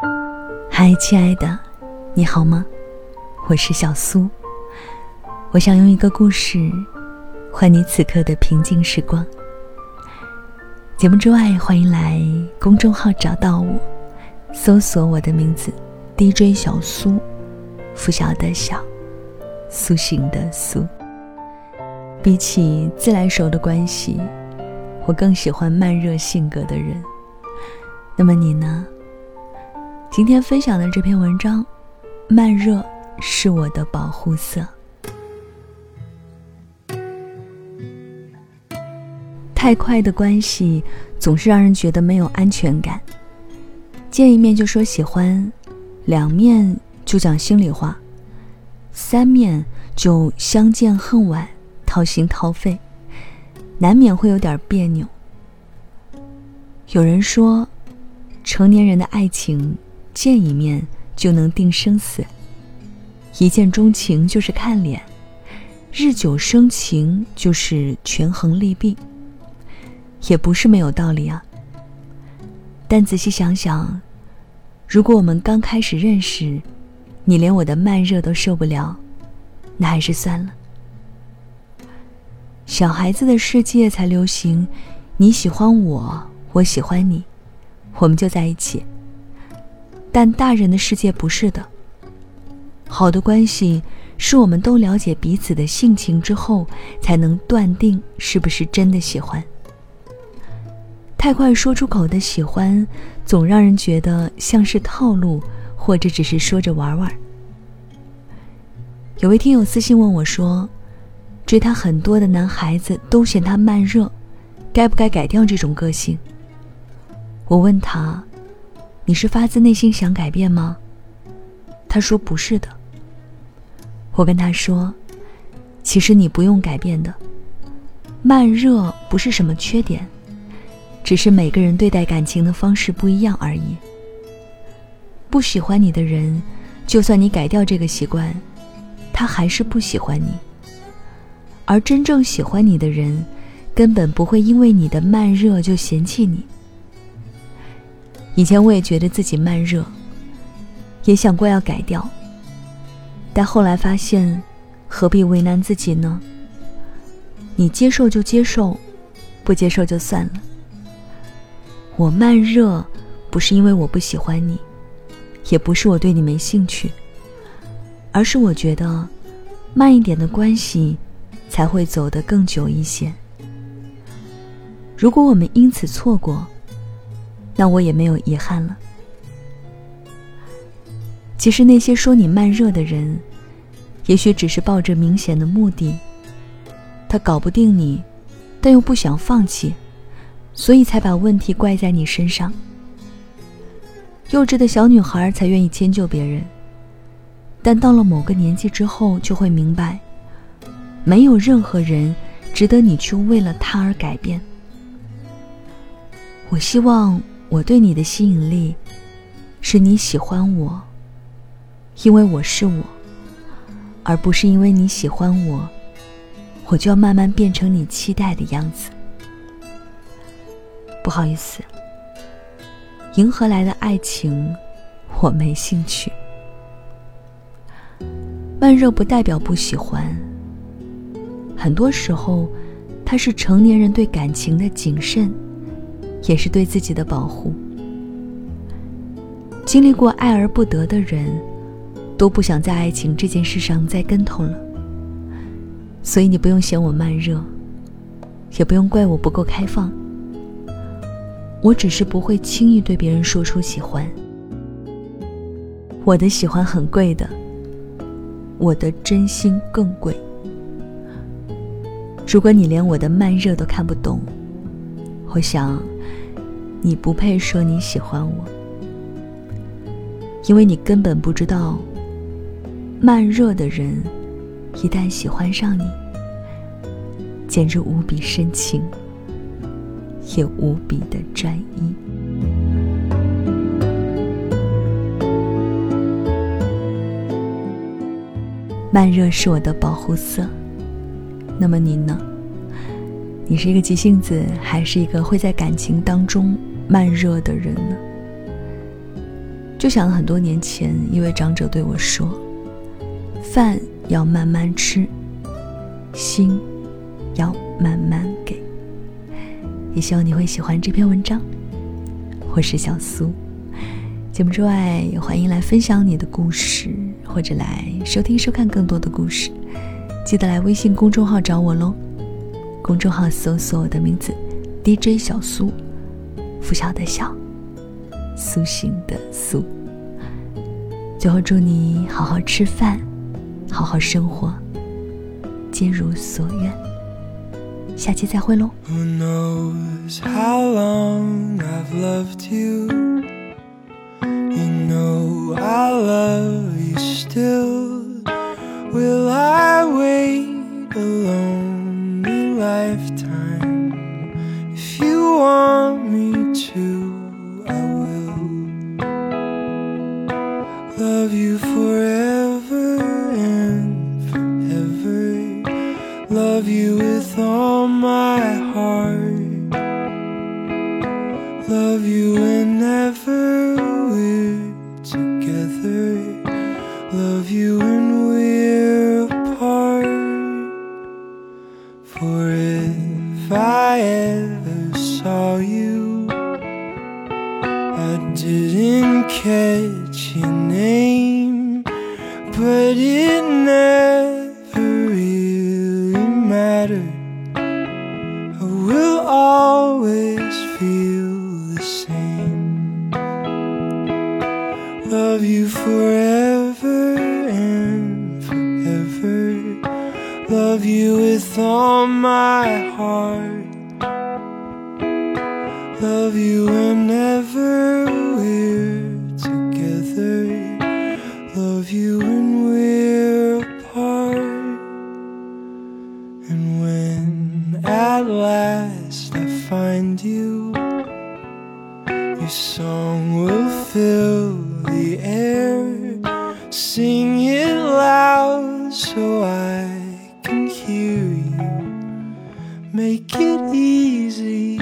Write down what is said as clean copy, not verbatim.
嗨，亲爱的，你好吗？我是小苏，我想用一个故事换你此刻的平静时光。节目之外，欢迎来公众号找到我，搜索我的名字 DJ 小苏，拂晓的晓，苏醒的苏。比起自来熟的关系，我更喜欢慢热性格的人。那么你呢？今天分享的这篇文章，慢热是我的保护色。太快的关系总是让人觉得没有安全感，见一面就说喜欢，2面就讲心里话，3面就相见恨晚，掏心掏肺，难免会有点别扭。有人说，成年人的爱情见一面就能定生死，一见钟情就是看脸，日久生情就是权衡利弊，也不是没有道理啊。但仔细想想，如果我们刚开始认识，你连我的慢热都受不了，那还是算了。小孩子的世界才流行你喜欢我，我喜欢你，我们就在一起。但大人的世界不是的，好的关系是我们都了解彼此的性情之后，才能断定是不是真的喜欢。太快说出口的喜欢，总让人觉得像是套路，或者只是说着玩玩。有位听友私信问我说，追他很多的男孩子都嫌他慢热，该不该改掉这种个性？我问他，你是发自内心想改变吗？他说不是的。我跟他说，其实你不用改变的，慢热不是什么缺点，只是每个人对待感情的方式不一样而已。不喜欢你的人，就算你改掉这个习惯，他还是不喜欢你。而真正喜欢你的人，根本不会因为你的慢热就嫌弃你。以前我也觉得自己慢热，也想过要改掉，但后来发现，何必为难自己呢？你接受就接受，不接受就算了。我慢热不是因为我不喜欢你，也不是我对你没兴趣，而是我觉得慢一点的关系才会走得更久一些。如果我们因此错过，那我也没有遗憾了。其实那些说你慢热的人，也许只是抱着明显的目的，他搞不定你，但又不想放弃，所以才把问题怪在你身上。幼稚的小女孩才愿意迁就别人，但到了某个年纪之后，就会明白，没有任何人值得你去为了他而改变。我希望我对你的吸引力是你喜欢我，因为我是我，而不是因为你喜欢我，我就要慢慢变成你期待的样子。不好意思，迎合来的爱情我没兴趣。慢热不代表不喜欢，很多时候它是成年人对感情的谨慎，也是对自己的保护。经历过爱而不得的人，都不想在爱情这件事上再跟头了。所以你不用嫌我慢热，也不用怪我不够开放。我只是不会轻易对别人说出喜欢。我的喜欢很贵的，我的真心更贵。如果你连我的慢热都看不懂，我想你不配说你喜欢我，因为你根本不知道，慢热的人一旦喜欢上你，简直无比深情，也无比的专一。慢热是我的保护色，那么你呢？你是一个急性子，还是一个会在感情当中慢热的人呢？ 就想了很多年前一位长者对我说，饭要慢慢吃，心要慢慢给。也希望你会喜欢这篇文章。我是小苏，节目之外也欢迎来分享你的故事，或者来收听收看更多的故事。记得来微信公众号找我咯，公众号搜索我的名字 DJ 小苏，拂晓的晓，苏醒的苏。最后祝你好好吃饭，好好生活，皆如所愿。下期再会咯。 Who knows how long I've loved you? You know I love you still. Will I wait a lonely lifetime? If you want me to, I will. Love you forever and forever. Love you with all my heart. Love you whenever we're together. Love you when we're apart. For if I ever saw you, I didn't catch your name, but it never really mattered. I will always feel the same. Love you forever and forever. Love you with all my heart. Love you whenever we're together. Love you when we're apart. And when at last I find you, your song will fill the air. Sing it loud so I can hear you. Make it easy